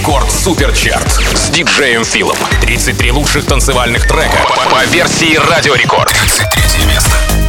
Рекорд Суперчарт с диджеем Филом. 33 лучших танцевальных трека по версии Радио Рекорд. 33 место.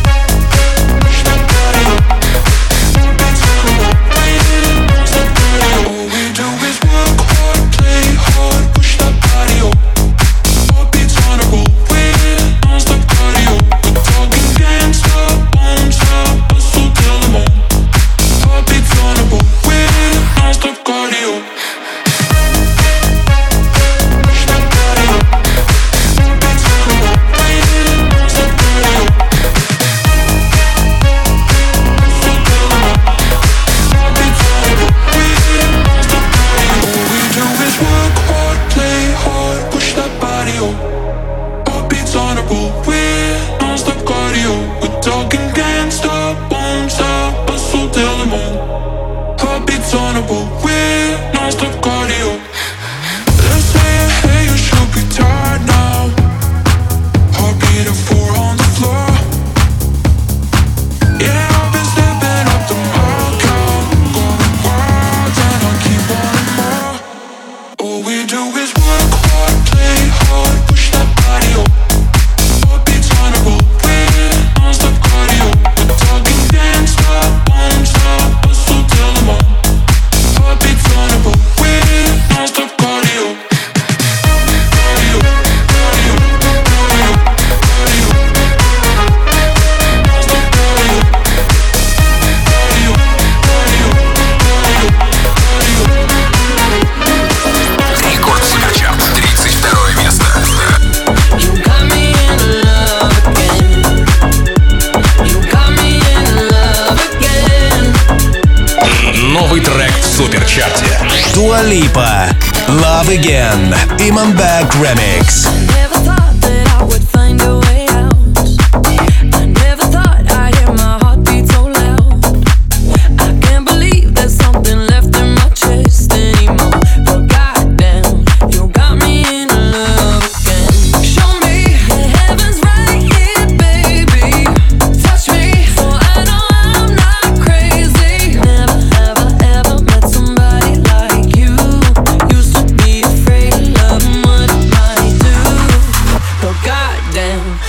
Dua Lipa, Love Again, Imanbek Remix. Damn.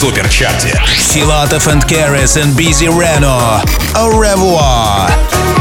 суперчарте. Filatov and Keres and Busy Reno. Au revoir.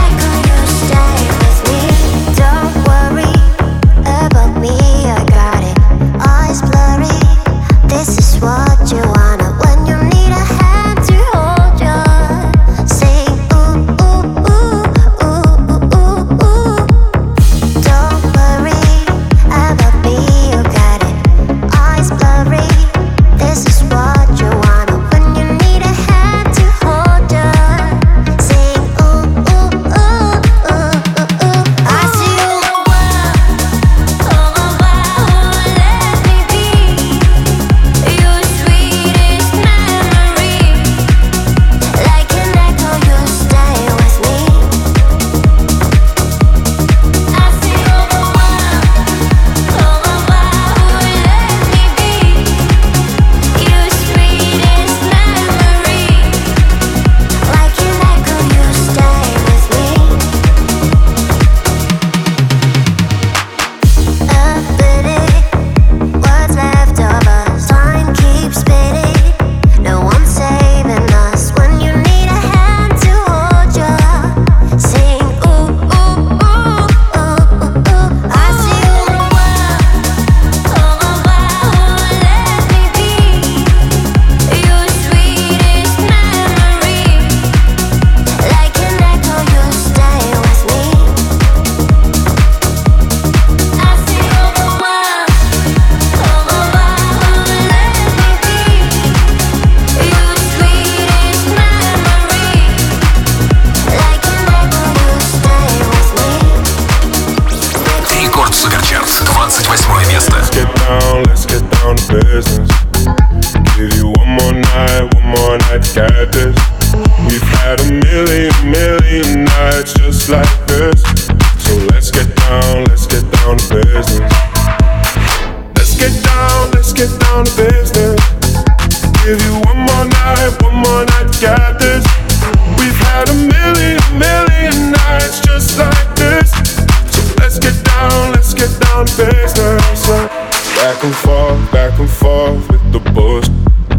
Back and forth with the bullshit.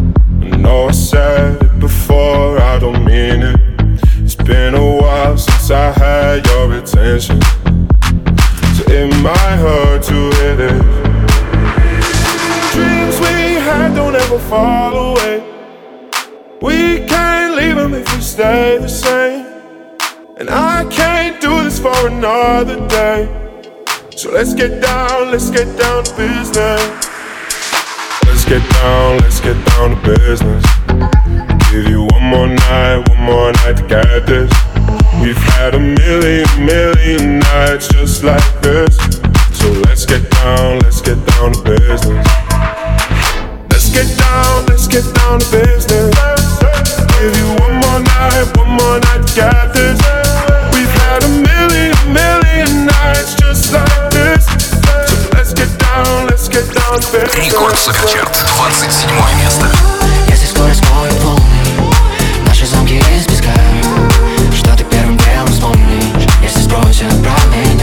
I know I said it before, I don't mean it. It's been a while since I had your attention, so it might hurt to hit it. Dreams we had don't ever fall away. We can't leave them if we stay the same. And I can't do this for another day. So let's get down to business. Let's get down to business. Give you one more night to get this. We've had a million nights just like this. So let's get down to business. Let's get down to business. Give you one more night to get this. We've had a million nights just like this. So let's get down to business. Рекорд Суперчарт, 27 место. Если скорость мой полный, наши замки из песка, что ты первым делом вспомнишь, если спросят про меня?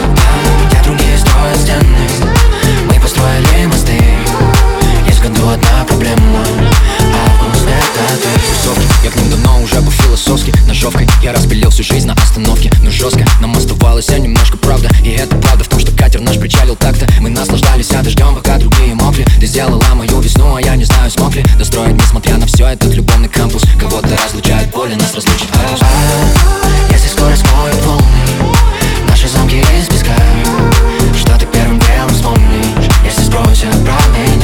Где другие строят стены, мы построили мосты. Есть в году одна проблема, август это ты. Я к ним давно уже по-философски, ножовкой я распилил всю жизнь на остановке. Но жестко нам оставалось немножко правда. И это правда в том, что катер наш причалил так-то. Мы наслаждались дождем, пока другие мокли. Ты сделала мою весну, а я не знаю, смог ли достроить, несмотря на все, этот любовный кампус. Кого-то разлучает боль, нас разлучит август. Если скорость мой полный, наши замки из песка, что ты первым делом вспомнишь, если спросят про меня?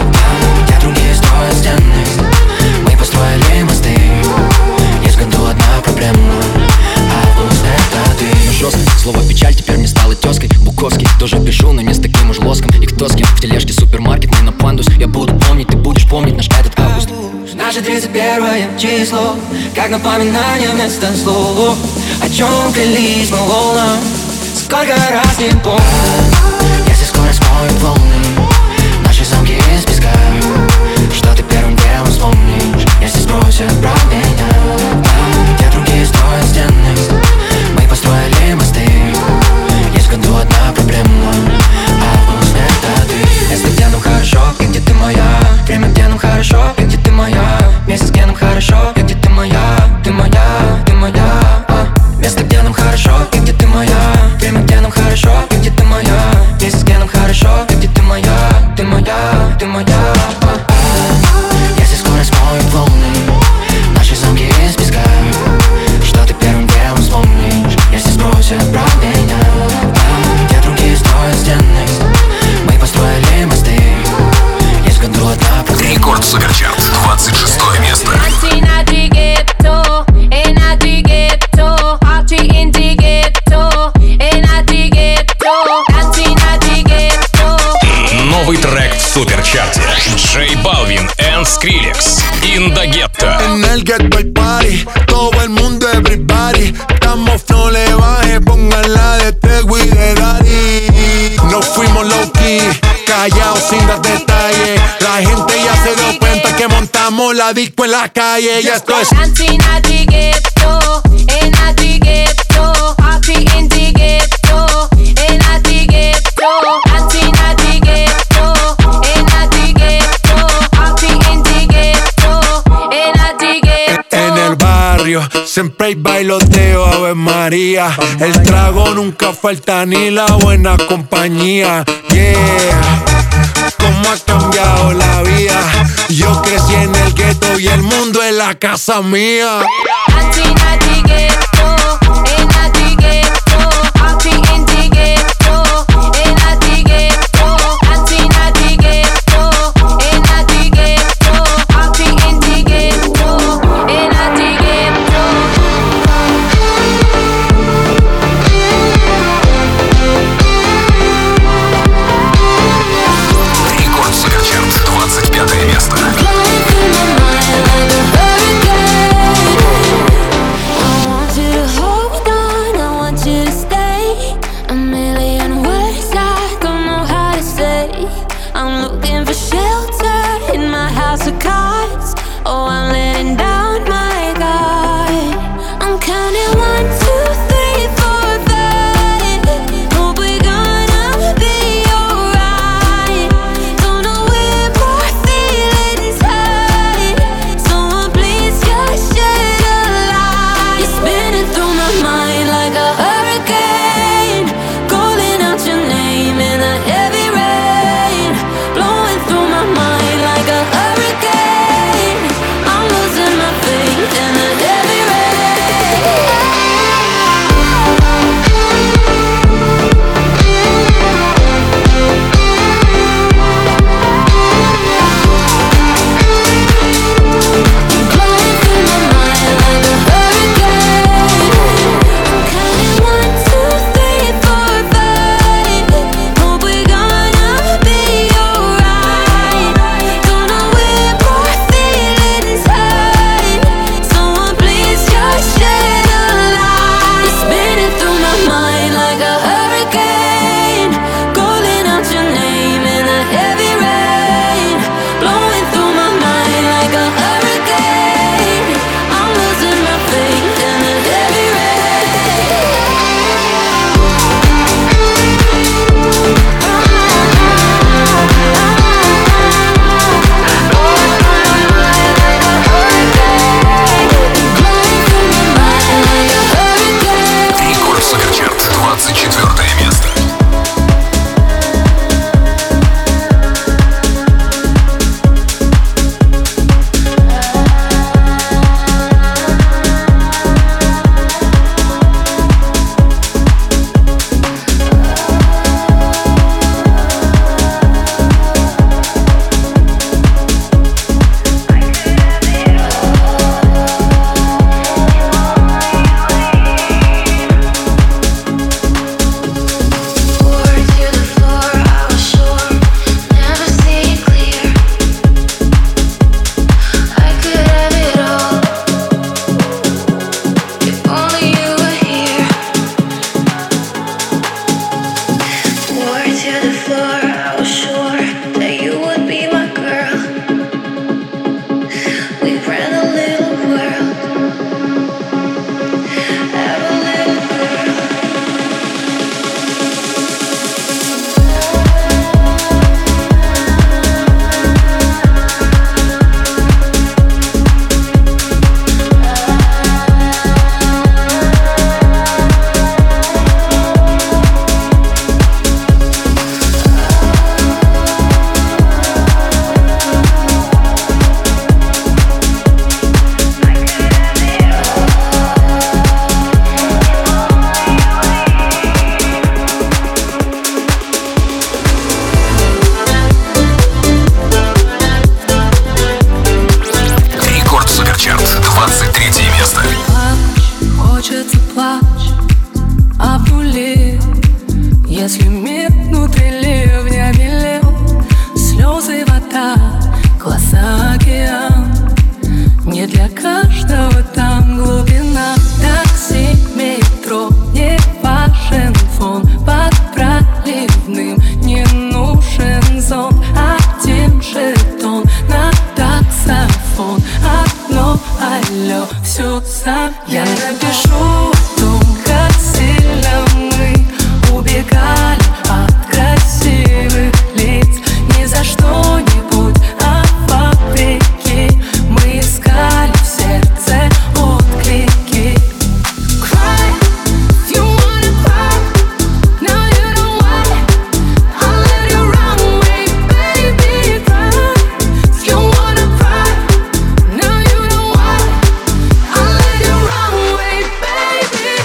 Где другие строят стены, мы построили мосты. Есть в году одна проблема, август это ты. Но жестко, слово печаль теперь мне стало тезкой. Буковский тоже пишу, но не с таким уж лоском. И кто с кем в тележке супермаркет, не на пандус. Я буду помнить, ты будешь помнить наш этот август. Наше 31 число, как напоминание вместо слов. О чем клялись мы волнам, сколько раз не помню. Если скорость мой полный, наши замки из песка, что ты первым делом вспомнишь, если спросят про меня? Где другие строят стены, мы построили мосты. Есть в году одна проблема, август это ты. Если где нам хорошо, и где ты моя? Время, где нам хорошо, и где ты моя? el party, todo el mundo everybody. Estamos no le baje, pónganla de Tego y de Daddy. Nos fuimos low key, callados sin dar detalles. La gente ya se dio cuenta que montamos la disco en la calle. Y esto es dancing at the ghetto, in at the ghetto, happy in the ghetto, in at the ghetto, dancing at the ghetto, in at the ghetto, happy in the ghetto, in at the ghetto. en el barrio. Siempre hay bailoteo, Ave María. El trago nunca falta ni la buena compañía. Yeah, cómo ha cambiado la vida. Yo crecí en el gueto y el mundo es la casa mía. Dancing at the ghetto, in at the ghetto, happy in the ghetto, in at the ghetto, dancing at the ghetto, in at the ghetto, happy in the ghetto, in at the ghetto. Рекорд Суперчарт, 25 место. Flying through my mind like a hurricane. все сам. Я напишу о том, как сильно мы убегали от красивых лиц. Ни за что-нибудь, а вопреки мы искали в сердце отклики. Cry, if you wanna cry. No, you don't want it. I'll let you run away, baby. Cry, if you wanna cry. No, you don't want it. I'll let you run away, baby.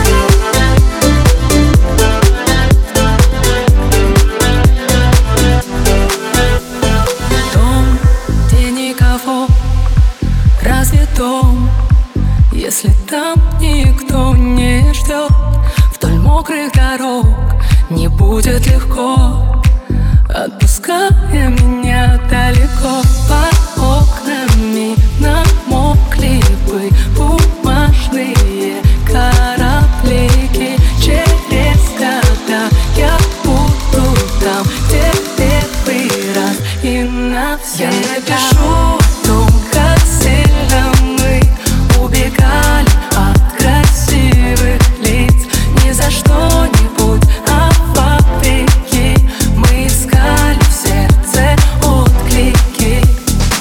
Дом, где никого, разве дом, если там никто не ждет? Вдоль мокрых дорог не будет легко, отпуская меня далеко. Под окнами намокли бы бумажные кораблики. Через года я буду там, где первый раз и навсегда. Я напишу о том, как сильно мы убегали от красивых лиц. Ни за что-нибудь, а вопреки мы искали в сердце отклики.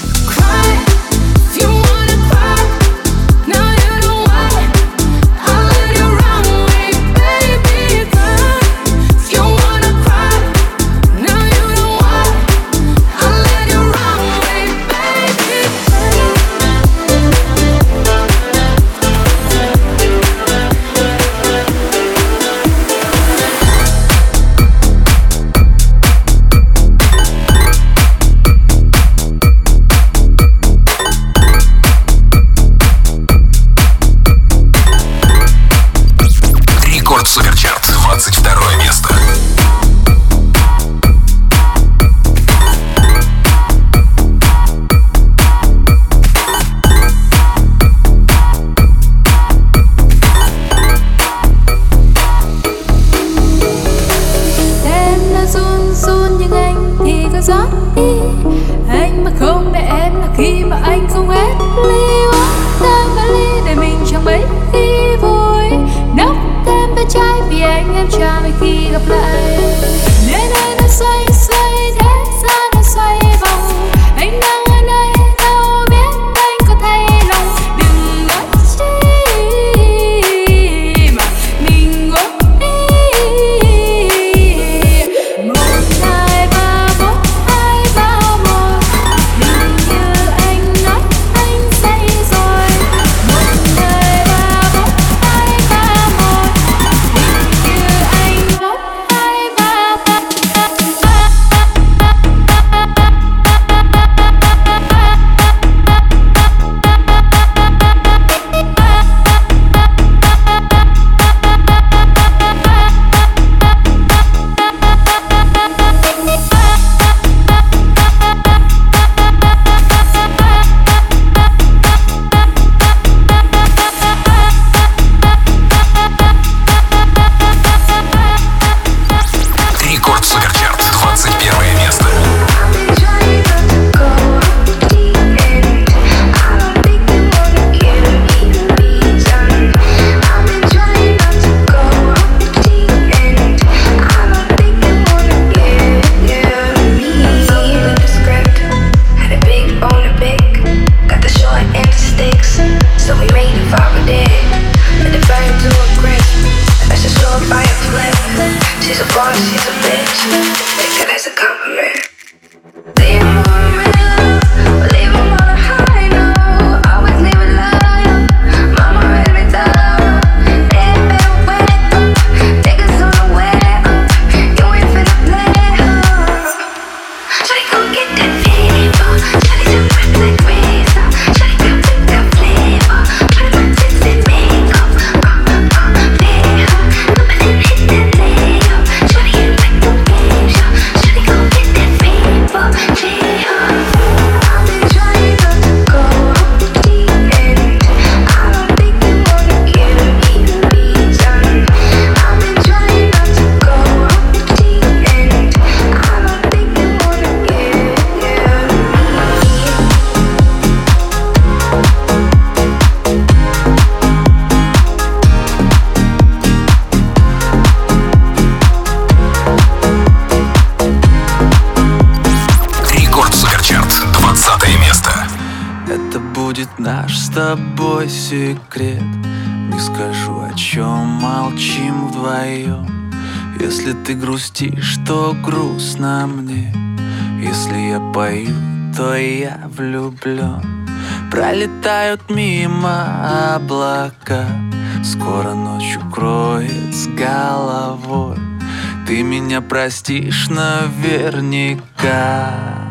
тобой секрет. Не скажу, о чем молчим вдвоем. Если ты грустишь, то грустно мне. Если я пою, то я влюблен. Пролетают мимо облака, скоро ночь укроет с головой. Ты меня простишь наверняка.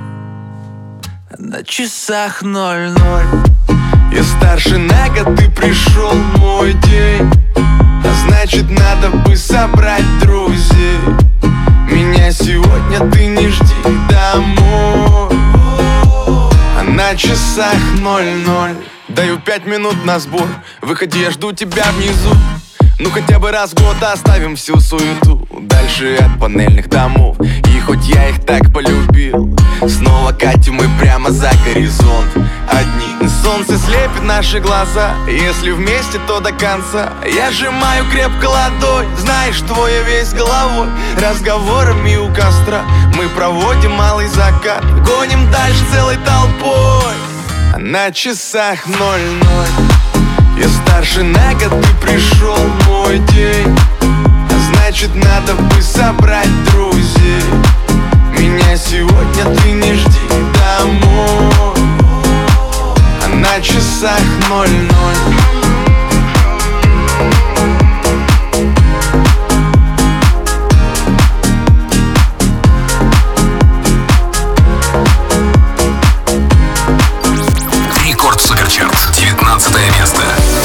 На часах 00. Я старше на год, ты пришел мой день. А значит, надо бы собрать друзей. Меня сегодня ты не жди домой. А на часах 00. Даю 5 минут на сбор. Выходи, я жду тебя внизу. Ну хотя бы раз в год оставим всю суету дальше от панельных домов. И хоть я их так полюбил, снова катим мы прямо за горизонт. Одни солнце слепит наши глаза. Если вместе, то до конца. Я сжимаю крепко ладонь, знаешь, твоя весь головой. Разговорами у костра мы проводим малый закат. Гоним дальше целой толпой. А на часах 00. Я старше на год, ты пришел мой день. А значит, надо бы собрать друзей. Меня сегодня ты не жди домой. А на часах 00. Рекорд Суперчарт, 19 место.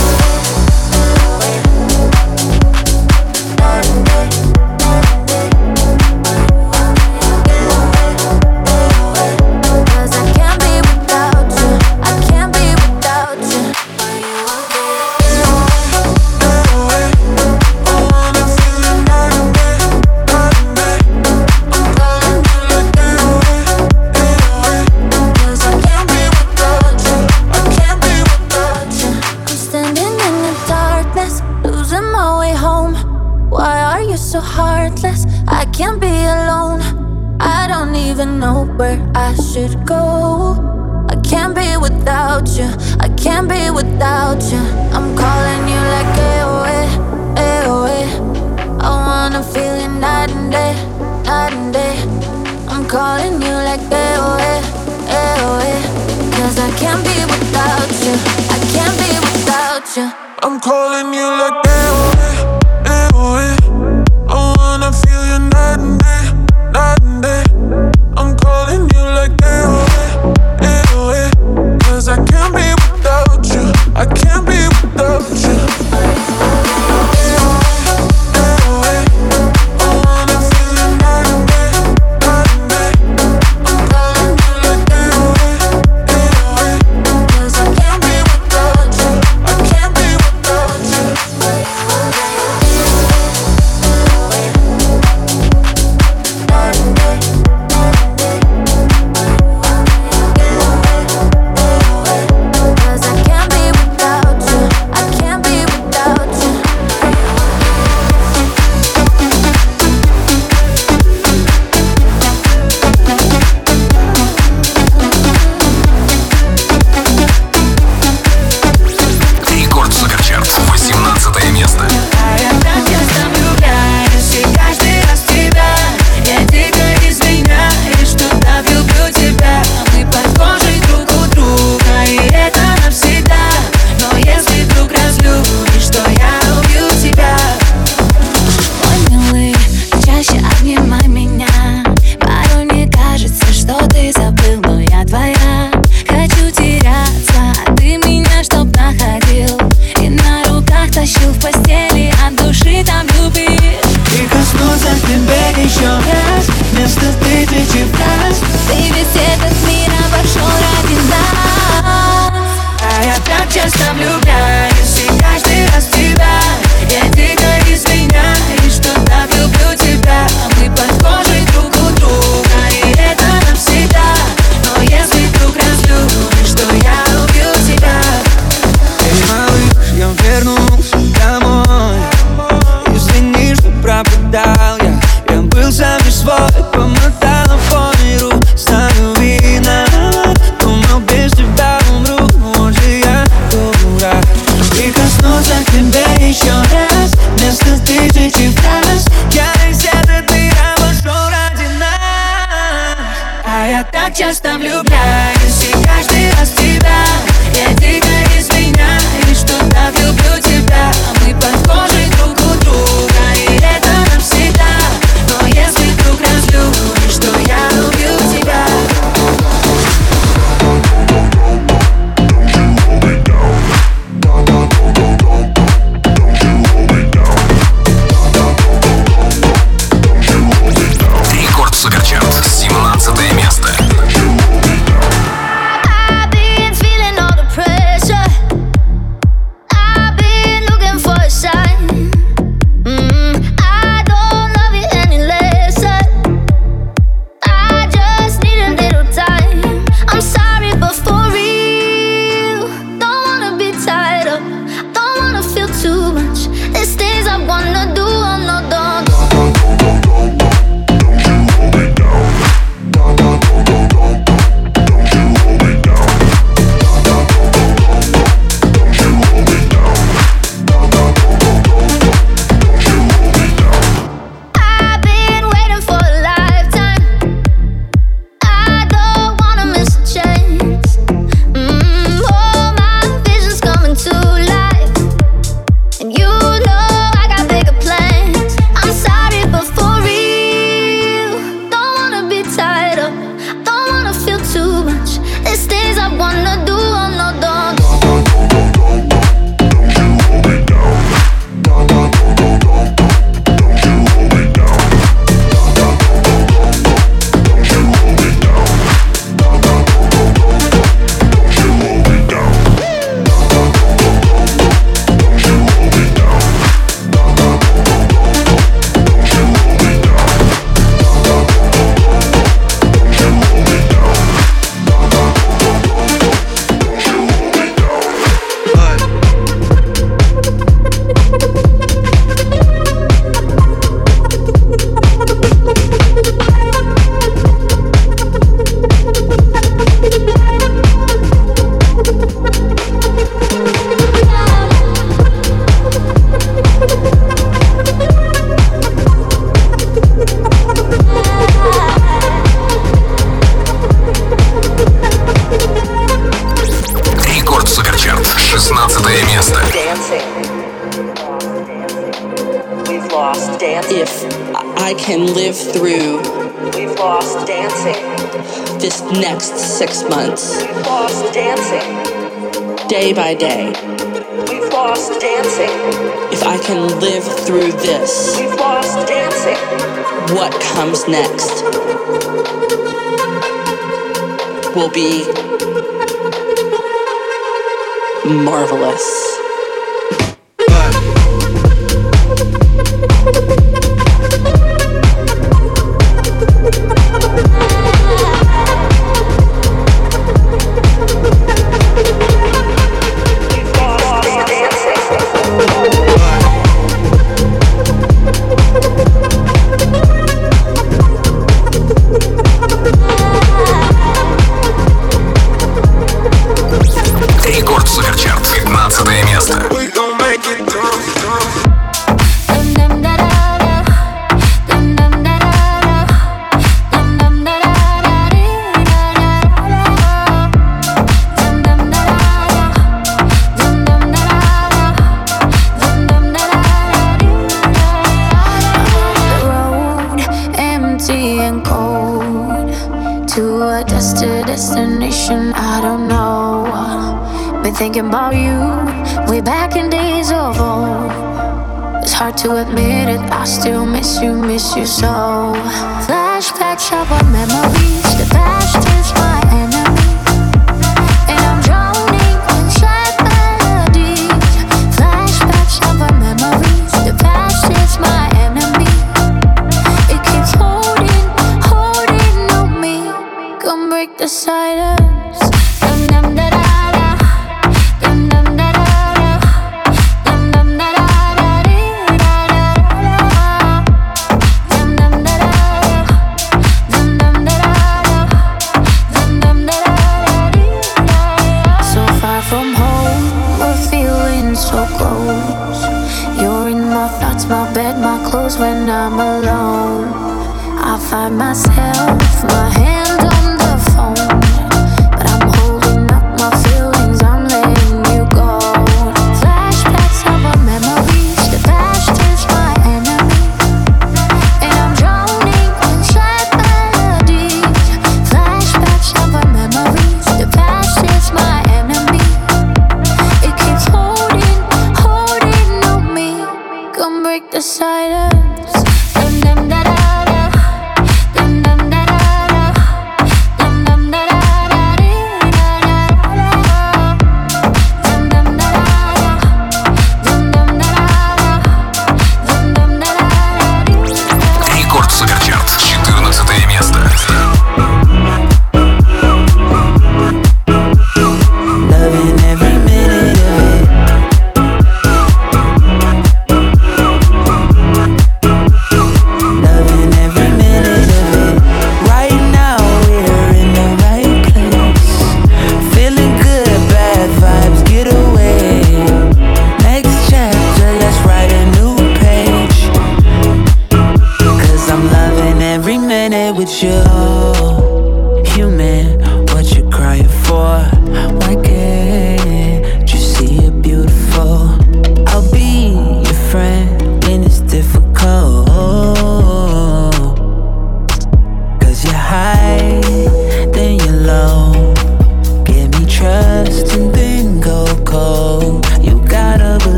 I'm calling you like AOA. I wanna feel you night and day, night and day. I'm calling you like AOA. Cause I can't be without you. I can't be without you. Думал, без тебя умру, может я часто влюбляюсь, и каждый раз в тебя я дико изменяюсь, что так люблю тебя. Мы похожи друг у друга, и это навсегда. Но если вдруг разлюбишь, то я убью тебя. Рекорд Суперчарт, 17 место. I've been feeling all the pressure. I've been looking for a sign. I don't love you any less. I just need a little time. I'm sorry, but for real, don't wanna be tied up. Don't wanna feel too much. There's things I wanna do, I'm not done. I've been waiting for a lifetime. I don't wanna miss a chance. All my visions coming to life, and you know I got bigger plans. I'm sorry, but for real, don't wanna be tied up. Don't wanna feel too much. There's things I wanna do, I'm not done. Рекорд Суперчарт, 16 место. We've lost dancing. If I can live through we've lost dancing. This next 6 months. We've lost dancing. Day by day. We've lost dancing. If I can live through this. We've lost dancing. What comes next will be marvelous. Рекорд Суперчарт, 15 место. Destination, I don't know. Been thinking about you way back in days of old. It's hard to admit it, I still miss you so. Flashbacks of our memories, the past is my enemy, and I'm drowning in sad melodies. Flashbacks of our memories, the past is my enemy. It keeps holding on me. Come break the silence. When I'm alone, I find myself, my hand on the phone.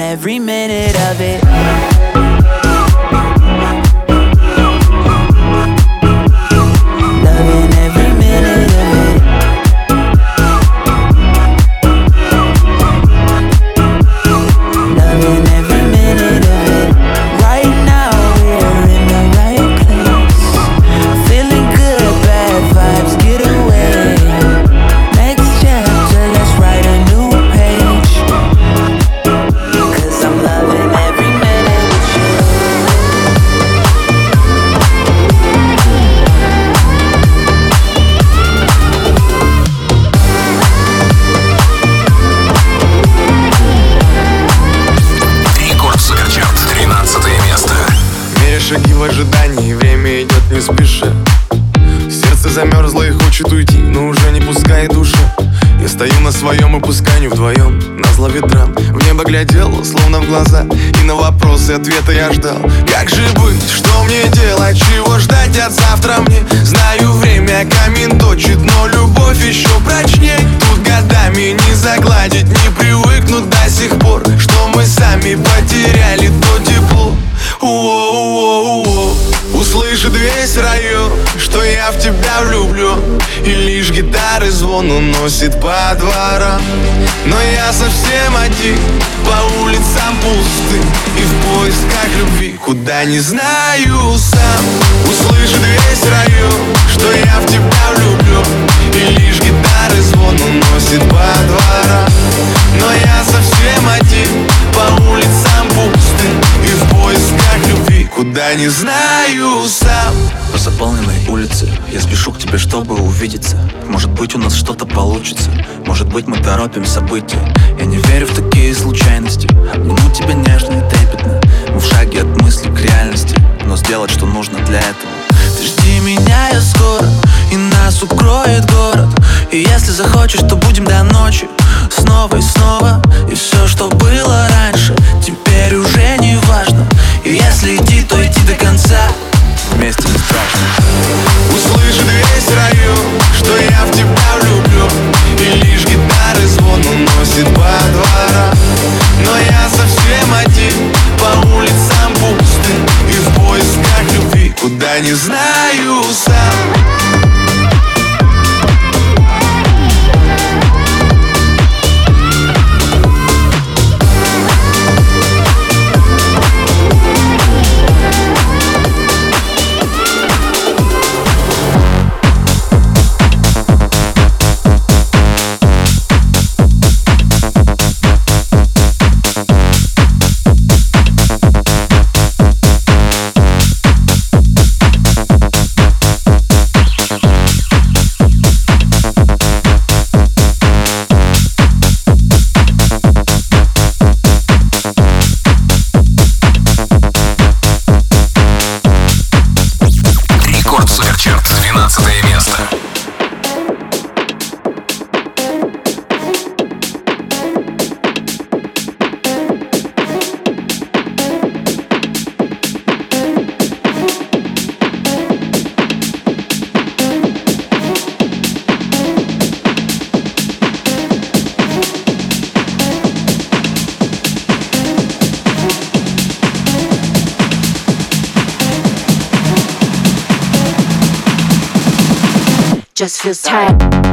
every minute of it. Loving every minute of it. Loving every minute of it. Right now we're in the right place. Feeling good, bad vibes, get away. Next chapter, let's write a new page. 'Cause I'm loving every minute with you. Рекорд Суперчарт, 13 место. Меря шаги в ожидании, время идет не спеша. Сердце замерзло и хочет уйти, но уже не пускай душа. Я стою на своем и пусканию вдвоем, назло ветрам. В небо глядел, словно в глаза, и на вопросы ответа я ждал. Как же быть, что мне делать, чего ждать от завтра мне? Знаю, время камень точит, но любовь еще прочней. Тут годами не загладить, не привыкнуть до сих пор, что мы сами потеряли то тепло. Услышит весь район, что я в тебя влюблен, и лишь гитары звон уносит по дворам. Но я совсем один, по улицам пустым, и в поисках любви, куда не знаю сам. Услышит весь район, что я в тебя влюблен, и лишь гитары звон уносит по дворам. Но я совсем один, по улицам пустым, и в поисках любви, куда не знаю сам. По заполненной улице я спешу к тебе, чтобы увидеться. Может быть, у нас что-то получится, может быть, мы торопим события. Я не верю в такие случайности, обниму тебя нежно и трепетно. Мы в шаге от мысли к реальности, но сделать, что нужно для этого. Ты жди меня, я скоро, и нас укроет город. И если захочешь, то будем до ночи, снова и снова. И все, что было раньше, теперь уже не важно. И если идти, то идти до конца, вместе не страшно. Услышит весь район, что я в тебя влюблен, и лишь гитары звон уносит по дворам. Но я совсем один, по улицам пустым, и в поисках любви, куда не знаю сам. Just feels tight.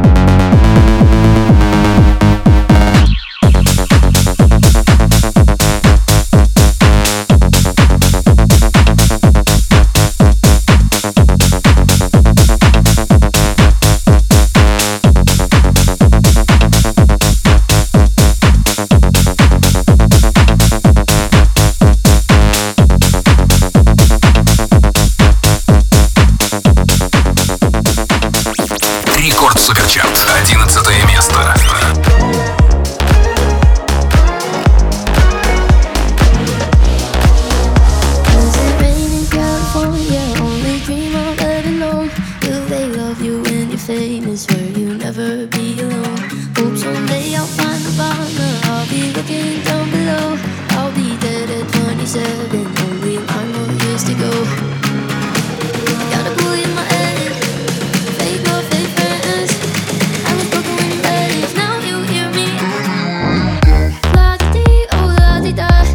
Суперчарт, 11 место. La-di-di, oh la-di-da.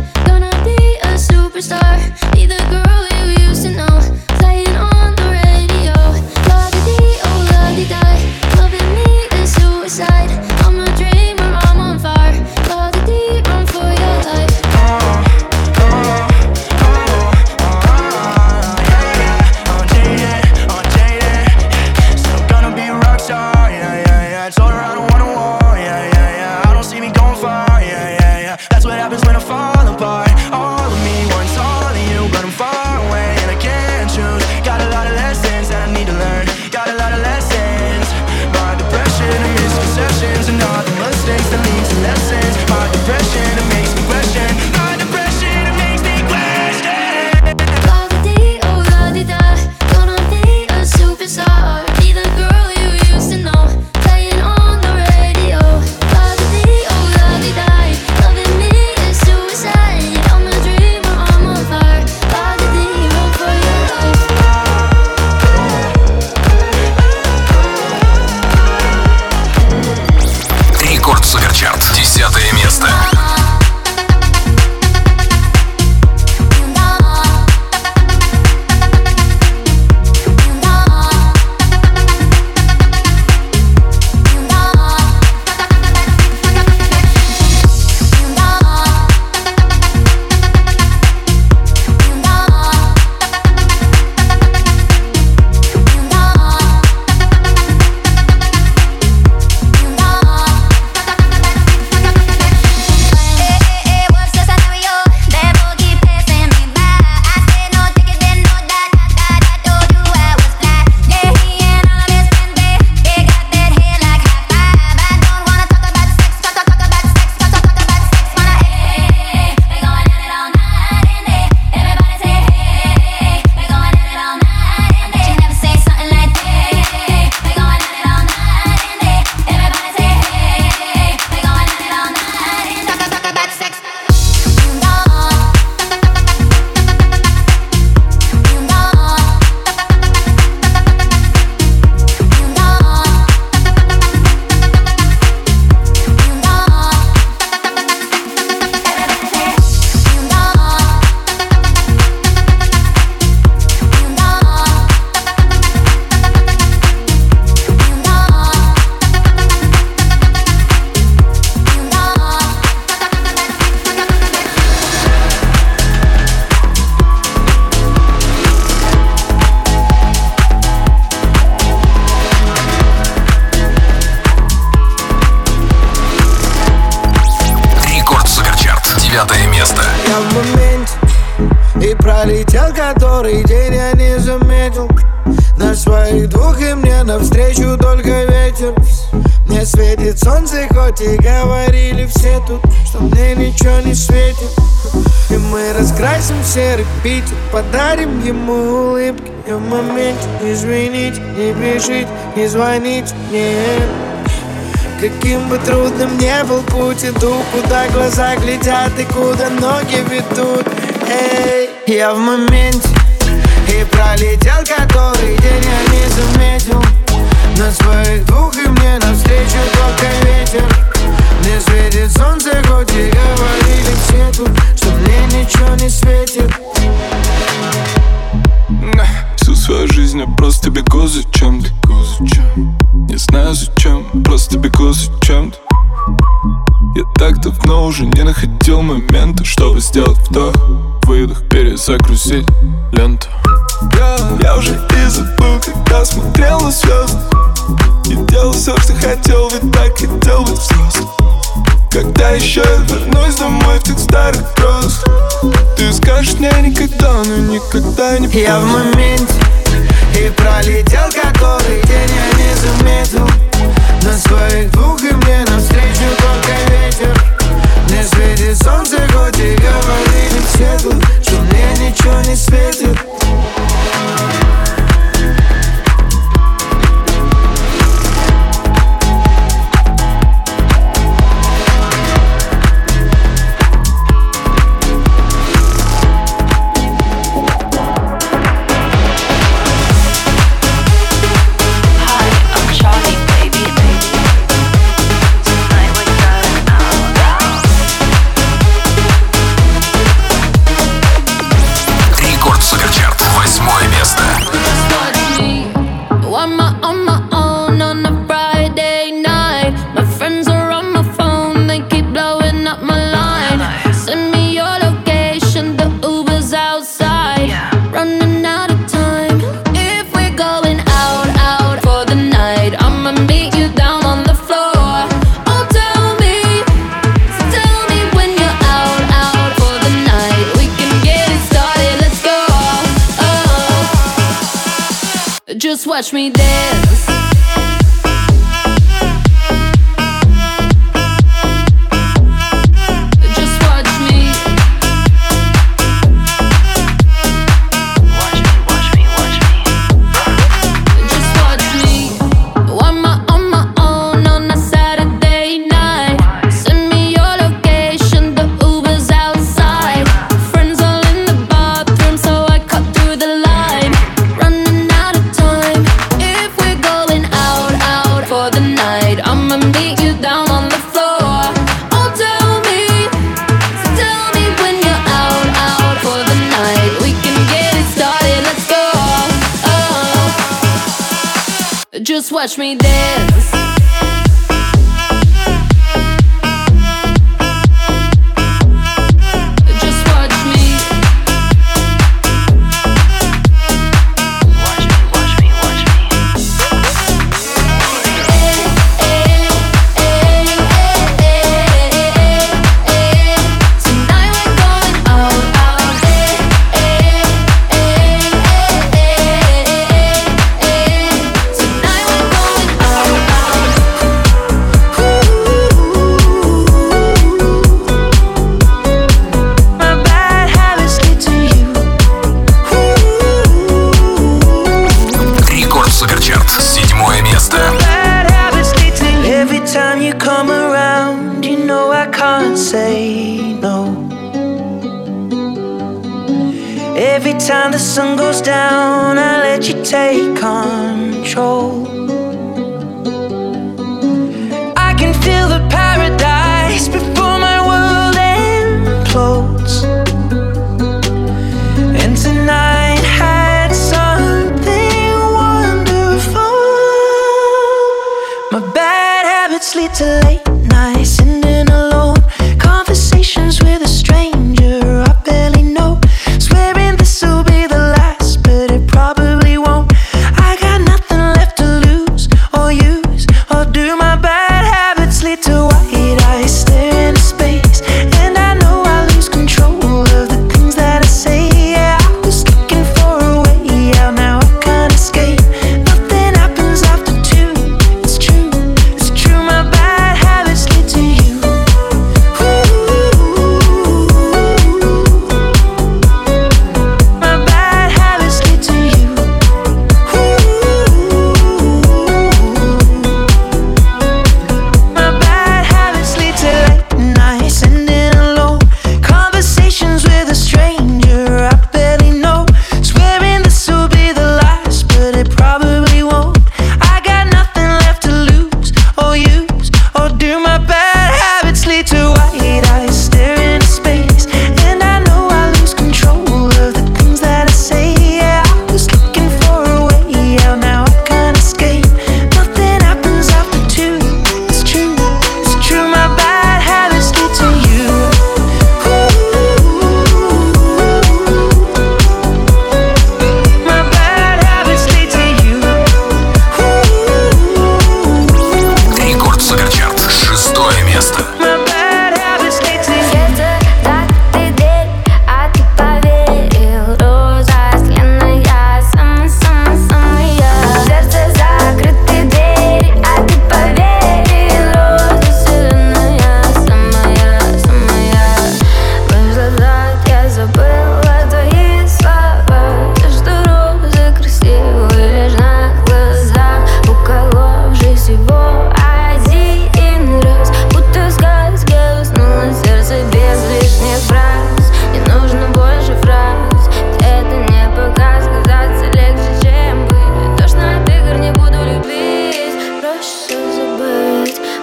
место. Я в моменте, и пролетел который день, я не заметил. На своих двух и мне навстречу только ветер. Мне светит солнце, хоть и говорили все тут, что мне ничего не светит. И мы раскрасим серый Питер, подарим ему улыбки. Я в моменте, извините, не пишите, не звоните мне. Каким бы трудным ни был путь, иду, куда глаза глядят и куда ноги ведут. Эй, я в моменте, и пролетел который день, я не заметил. На своих двух и мне навстречу только ветер. Мне светит солнце, хоть и говорили все тут, что мне ничего не светит. Всю свою жизнь я просто бегу за чем-то. Не знаю зачем, просто бегу за чем-то. Я так давно уже не находил момента, чтобы сделать вдох, выдох, перезагрузить ленту. Я уже и забыл, когда смотрел на звезды, и делал все, что хотел, ведь так хотел быть взрослым. Когда еще я вернусь домой в тех старых грозах, ты скажешь мне никогда, но никогда не поздно. Я в моменте, и пролетел который день, я не заметил. На своих двух и мне навстречу только ветер. Мне светит солнце, хоть и говорили все тут, что мне ничего не светит. Just watch me dance. Just watch me. Watch me. Just watch me. I'm on my own on a Saturday night. Send me your location, the Uber's outside. Friends all in the bathroom, so I cut through the line. Running out of time. If we're going out for the night, I'ma meet you down on the floor. Oh, tell me when you're out for the night. We can get it started, let's go. Just watch me dance. Just watch me. Watch me. Tonight we're going out. Tonight we're going out. My bad habits lead to you. Рекорд Суперчарт, 7 место. Bad habits lead to you. Every time you come around, you know I can't say no. Every time the sun goes down, I let you take control. I can feel the paradise before my world implodes. And tonight had something wonderful. My bad habits lead to late nights, sitting alone. Conversations with a stranger I barely know. Swearing this'll be the last, but it probably won't. I got nothing left to lose or use or do. My bad habits lead to white eyes stare into space, and I know I lose control.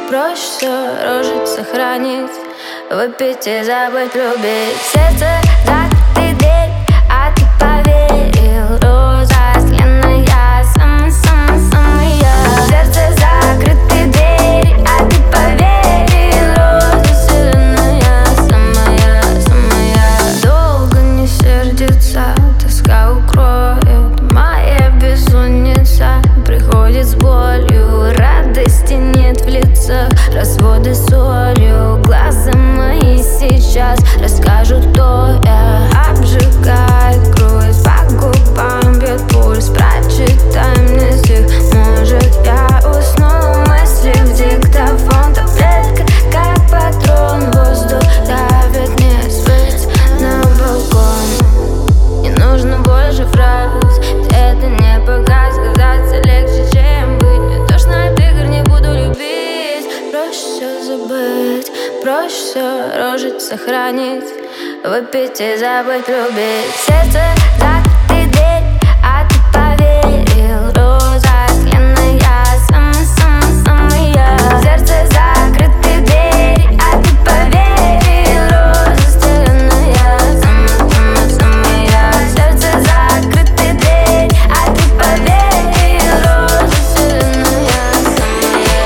Проще все рожить, сохранить, выпить и забыть любить. Сердце закрытый дверь, а ты поверил. Роза сленная, самая-самая. Сердце закрытый дверь, а ты поверил. Роза сленая, самая-самая. Долго не сердится, тоска укроет. Моя бессонница приходит с болью. Радости нет в лицах, разводы солью. Глаза мои сейчас расскажут, кто я. Обжигает грудь, по губам бьет пульс. Прочитай мне стих, может я усну. Мысли в диктофон, таблетка как патрон. Воздух давит, не спать на балкон. Не нужно больше фраз, это не показ. Казаться легче, чем быть. Не тошно от игр, не буду любить. Проще все забыть, проще все рожить, сохранить, выпить и забыть любить. Сердце закрытый дверь, а ты поверил. Роза сленная, самая-самая. Сердце закрытый дверь, а ты поверил. Роза сленная, самая-самая. Сердце закрытый дверь, а ты поверил. Роза сленная, самая-самая.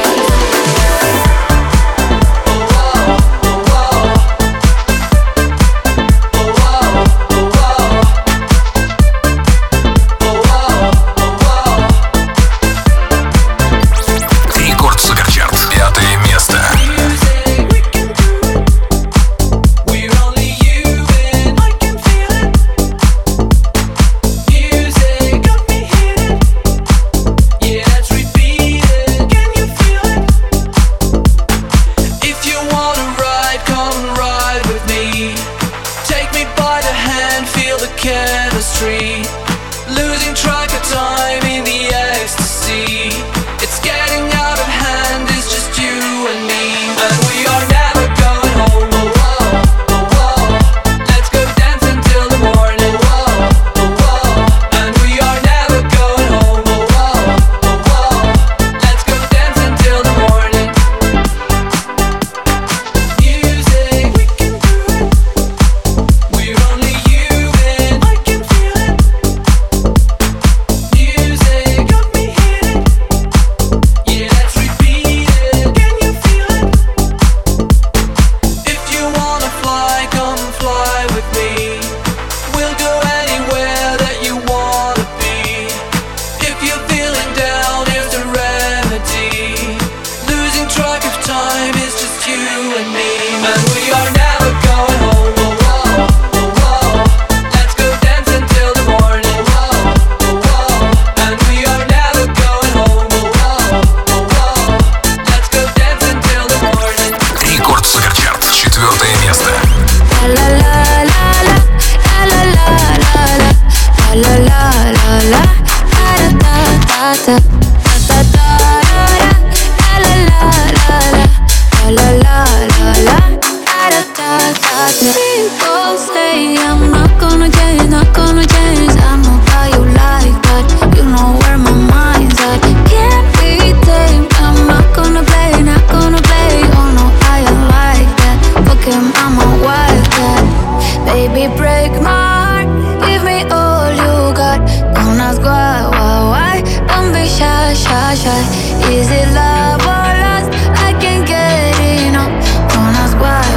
Рекорд Суперчарт. 5 место. If you wanna ride, come ride with me. Take me by the hand, feel the chemistry. Losing track of time in the ecstasy. It's getting out of hand, it's just you and me. And we are never going home. Oh, oh, oh, oh. Let's go dance until the morning. Oh, oh, oh. And we are never going home. Oh, oh, oh, oh. Let's go dance until the morning. Music, we can do it. We're only human. I can feel it. Music got me hitting. Yeah, let's repeat it. Can you feel it? If you wanna fly, come fly with me. We'll go anywhere that you wanna be. If you're feeling down, here's the remedy. Losing track of time is just you and me. And we are never going home. Oh, oh, oh, oh. Let's go dance until the morning. Oh, oh, oh. And we are never going home. Oh, oh, oh, oh. Let's go dance until the morning. Рекорд Суперчарт. 4 место. La la la la, la la la la, la la la la, da da da da da da, la la la la, la la la la, da da da da. People say I'm not gonna change, not gonna change. I know how you like that, you know where my mind's at. Can't be tamed. I'm not gonna play, not gonna play. Oh no, I am like that. Fuck him, I'm a wildcat. Baby, break my heart, give me all you got. Don't ask why, don't be shy, shy, shy. Is it love or lust? I can't get enough. Don't ask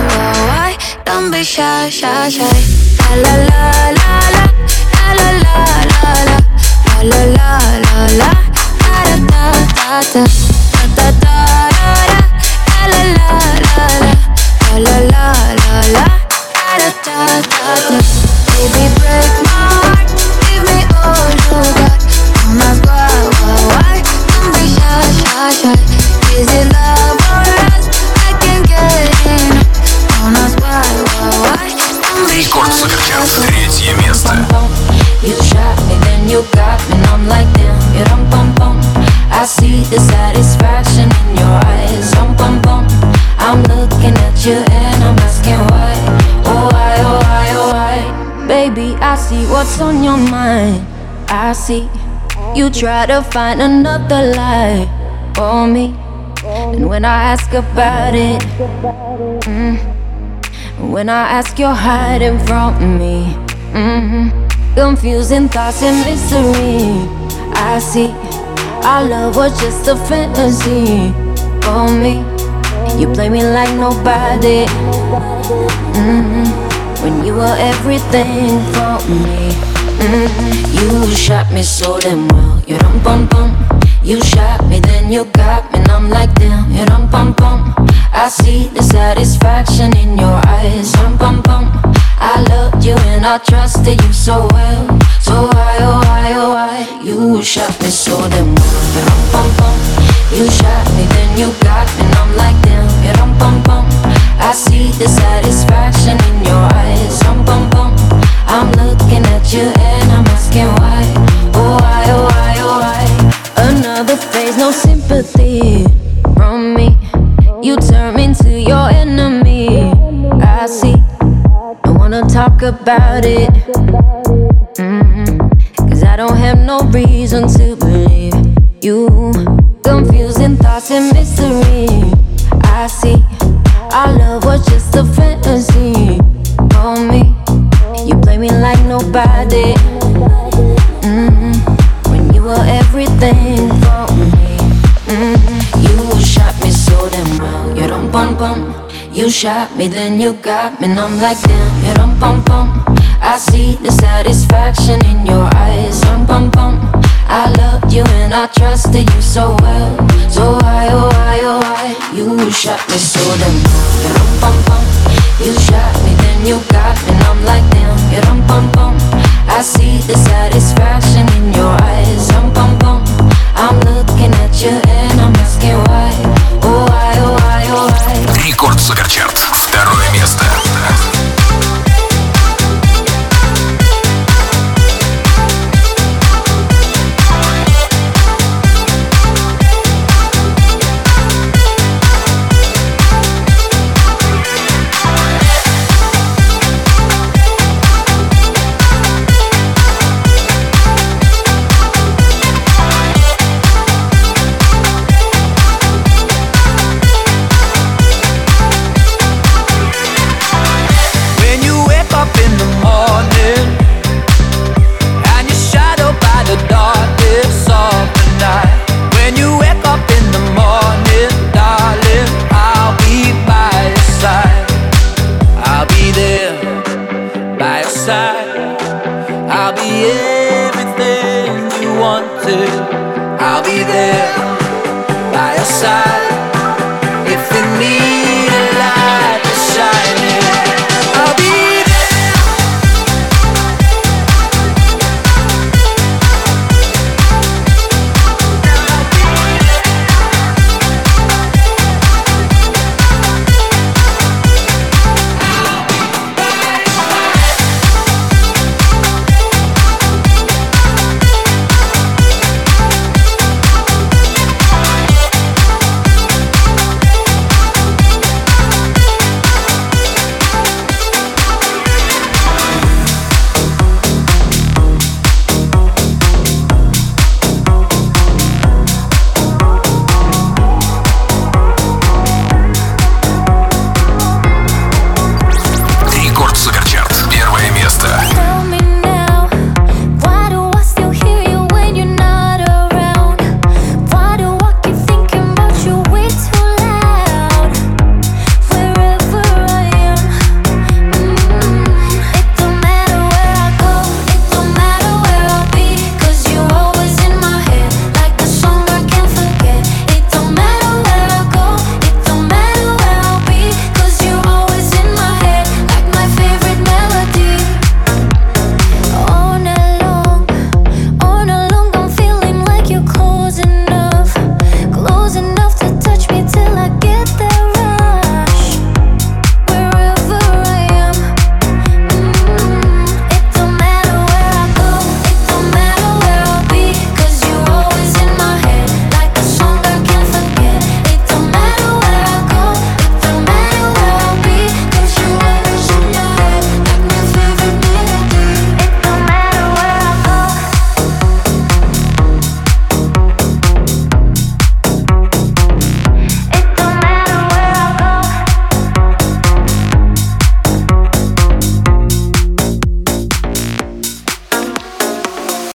why, don't be shy, shy, shy. La la la la, la la la la, la la la la, da da da da, da da da, la la la la, la la la la, da da da da. Baby, break my heart, give me all you got. Don't ask why, don't be shy, shy, shy. Is it love or lust? I can't get enough. Don't ask why, don't be shy, Рекорд shy, Суперчарт. shy. 3 место. You shot me, then you got me, and I'm like damn, you rum pum pum. I see the satisfaction in your eyes, rum pum pum. I'm looking at you and I'm asking why, oh why, oh why, oh why. Baby, I see what's on your mind. I see you try to find another lie for me. And when I ask about it, when I ask, you're hiding from me. Confusing thoughts and mystery. I see our love was just a fantasy for me. You play me like nobody. When you were everything for me. You shot me so damn well. You dum bum bum. You shot me, then you got me, and I'm like damn. You dum bum bum. I see the satisfaction in your eyes. Dum bum bum. I loved you and I trusted you so well. So why, oh why, oh why? You shot me so damn well. You dum bum bum. You shot me, then you got me, and I'm like damn. You dum bum bum. I see the satisfaction in your eyes. Dum bum bum. I'm looking at you and I'm asking why. Oh why, oh why, oh why? Another phase, no sympathy from me. You turn me into your enemy. I see. Don't wanna talk about it. Cause I don't have no reason to believe you. Confusing thoughts and mystery. I see. Our love was just a fantasy for me. You play me like nobody. When you were everything for me. You shot me so damn well. You dum bum bum. You shot me, then you got me, and I'm like damn. You dum bum bum. I see the satisfaction in your eyes. Dum bum bum. I loved you and I trusted you so well. So why, oh why, oh why? You shot me so damn well. You dum bum bum. You shot me, then you got me, and I'm like damn. You dum bum bum. I see the satisfaction in your eyes.